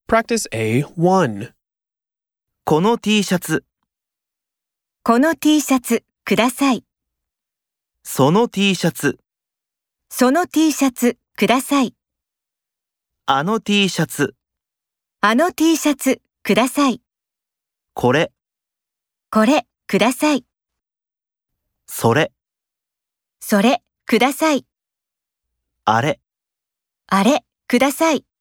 Practice A1. この T シャツ、 この T シャツください。 その T シャツ、 その T シャツください。 あの T シャツ、 あの T シャツください。 これ、 これください。 それ、 それください。 あれ。 あれください。